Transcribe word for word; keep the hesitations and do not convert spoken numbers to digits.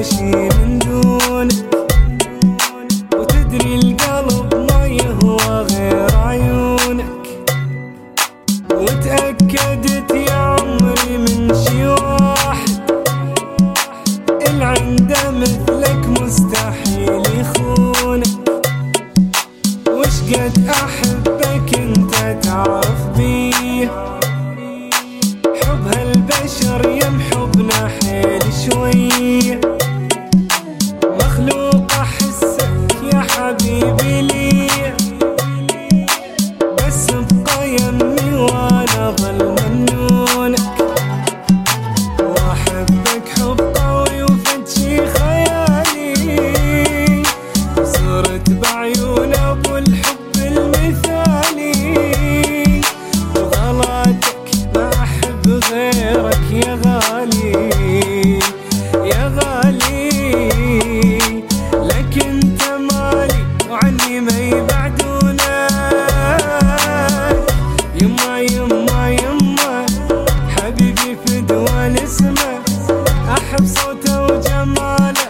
ماشي من دونك، وتدري القلب ما يهوى غير عيونك، وتأكدت يا عمري من شي واحد، اللي عنده مثلك مستحيل يخونك. وش قد أحبك انت تعرف بيه، حب هالبشر يمحبنا حيل شويه، مخلوق أحسك يا حبيبي لي، بس ابقى يمي وانا ظل ممنونك، واحبك حب قوي وفتشي خيالي، صرت بعيون ابو الحب المثالي، وغلاتك ما احب غيرك يا غالي يا غالي، لك انت مالي وعني ما يبعدونك، يما يما يما حبيبي فدوى الاسمه، احب صوته وجماله